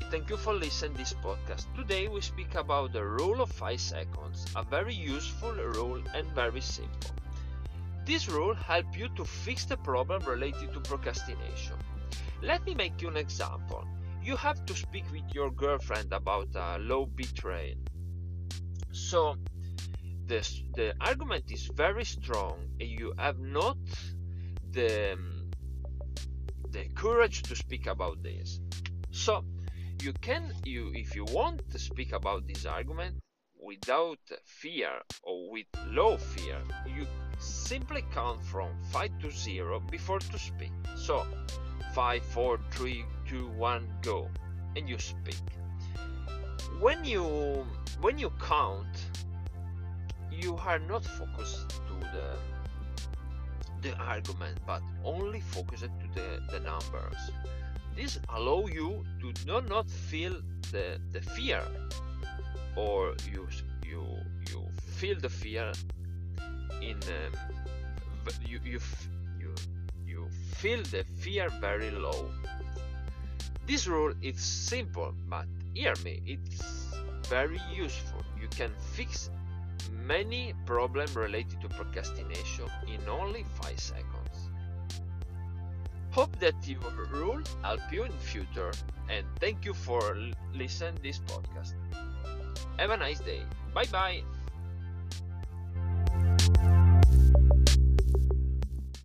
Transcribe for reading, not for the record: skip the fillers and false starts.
thank you for listening this podcast. Today we speak about the rule of 5 seconds, a very useful rule and very simple. This rule helps you to fix the problem related to procrastination. Let me make you an example. You have to speak with your girlfriend about a low bit rate. So the argument is very strong and you have not the courage to speak about this. So if you want to speak about this argument without fear or with low fear, you simply count from 5 to 0 before to speak. So 5, 4, 3, 2, 1, go, and you speak. When you count, you are not focused to the argument, but only focused to the numbers. This allow you to not feel the fear, or you feel the fear in you feel the fear very low. This rule is simple, but hear me, it's very useful. You can fix many problems related to procrastination in only 5 seconds. Hope that your rule help you in future, and thank you for listening this podcast. Have a nice day. Bye bye.